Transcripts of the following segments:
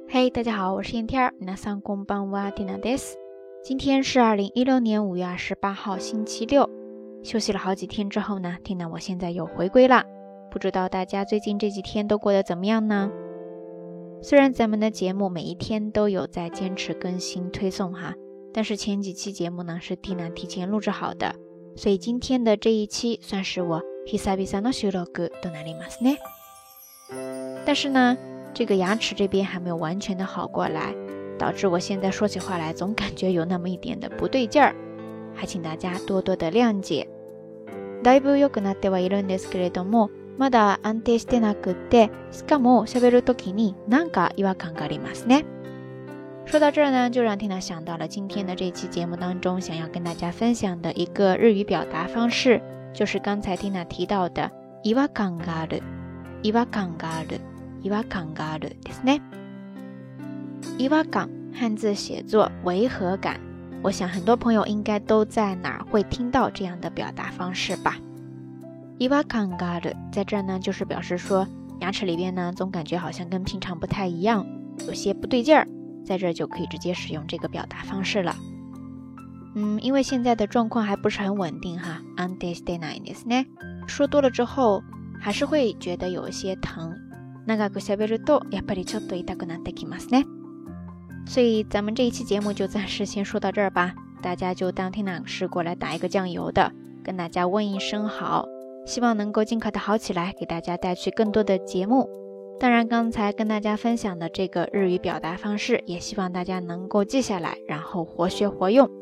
嘿，大家好，我是燕天儿。皆さんこんばんは、ティナです。今天是2016年5月28号，星期六。休息了好几天之后呢，缇娜我现在又回归啦。不知道大家最近这几天都过得怎么样呢？虽然咱们的节目每一天都有在坚持更新推送哈，但是前几期节目呢是缇娜提前录制好的，所以今天的这一期算是我久々の収録となりますね。但是呢，这个牙齿这边还没有完全的好过来，导致我现在说起话来总感觉有那么一点的不对劲儿，还请大家多多的谅解。だいぶ良くなってはいるんですけれども、まだ安定してなくって、しかも喋るときになんか違和感がありますね。说到这儿呢，就让缇娜想到了今天的这期节目当中想要跟大家分享的一个日语表达方式，就是刚才缇娜提到的違和感がある、違和感がある。違和感があるですね。違和感汉字写作违和感，我想很多朋友应该都在哪儿会听到这样的表达方式吧。違和感がある在这儿呢，就是表示说牙齿里边呢总感觉好像跟平常不太一样，有些不对劲儿，在这儿就可以直接使用这个表达方式了。因为现在的状况还不是很稳定哈，安定してないですね。说多了之后还是会觉得有一些疼。長く喋るとやっぱりちょっと痛くなってきますね。所以咱们这一期节目就暂时先说到这儿吧，大家就当缇娜是过来打一个酱油的，跟大家问一声好，希望能够尽快的好起来，给大家带去更多的节目。当然刚才跟大家分享的这个日语表达方式，也希望大家能够记下来，然后活学活用。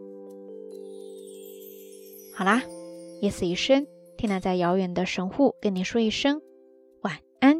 好啦，夜色已深，缇娜在遥远的神户跟你说一声晚安。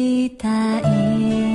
きたい